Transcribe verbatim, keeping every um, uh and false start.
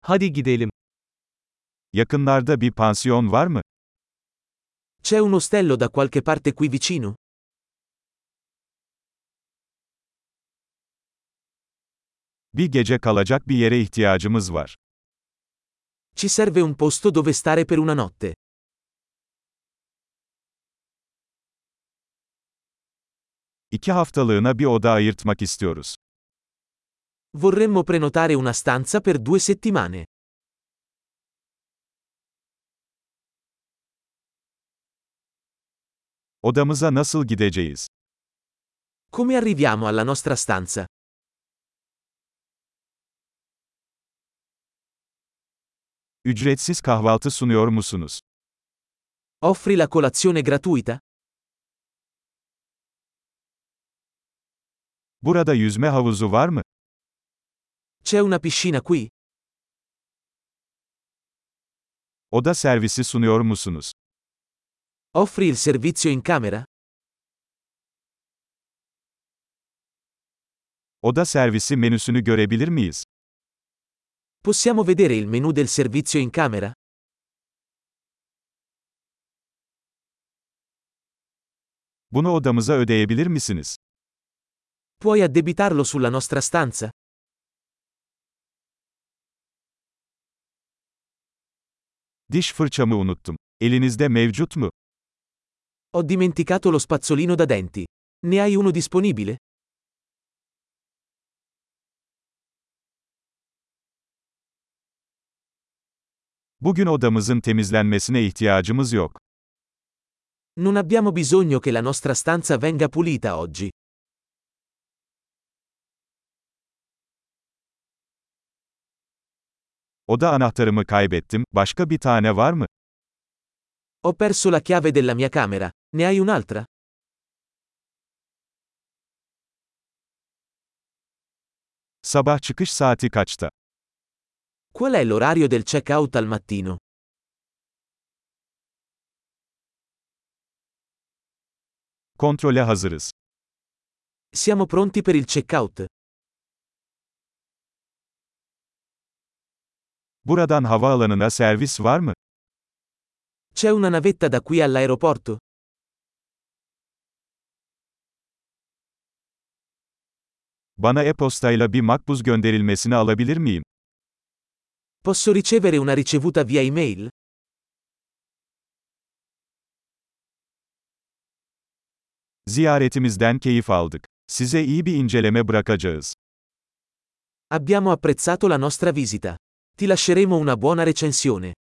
Hadi gidelim. Yakınlarda bir pansiyon var mı? C'è un ostello da qualche parte qui vicino? Bir gece kalacak bir yere ihtiyacımız var. Ci serve un posto dove stare per una notte. İki haftalığına bir oda ayırtmak istiyoruz. Vorremmo prenotare una stanza per due settimane. Odamıza nasıl gideceğiz? Come arriviamo alla nostra stanza? Ücretsiz kahvaltı sunuyor musunuz? Offri la colazione gratuita? Burada yüzme havuzu var mı? C'è una piscina qui? Oda servisi sunuyor musunuz? Offri il servizio in camera? Oda servisi menüsünü görebilir miyiz? Possiamo vedere il menu del servizio in camera? Bunu odamıza ödeyebilir misiniz? Puoi addebitarlo sulla nostra stanza? Diş fırçamı unuttum. Elinizde mevcut mu? Ho dimenticato lo spazzolino da denti. Ne hai uno disponibile? Bugün odamızın temizlenmesine ihtiyacımız yok. Non abbiamo bisogno che la nostra stanza venga pulita oggi. Oda anahtarımı kaybettim. Başka bir tane var mı? Ho perso la chiave della mia camera. Ne hai un'altra? Sabah çıkış saati kaçta? Qual è l'orario del check-out al mattino? Kontrole hazırız. Siamo pronti per il check-out. Buradan havaalanına servis var mı? C'è una navetta da qui all'aeroporto? Bana e-postayla bir makbuz gönderilmesini alabilir miyim? Posso ricevere una ricevuta via email? Ziyaretimizden keyif aldık. Size iyi bir inceleme bırakacağız. Abbiamo apprezzato la nostra visita. Ti lasceremo una buona recensione.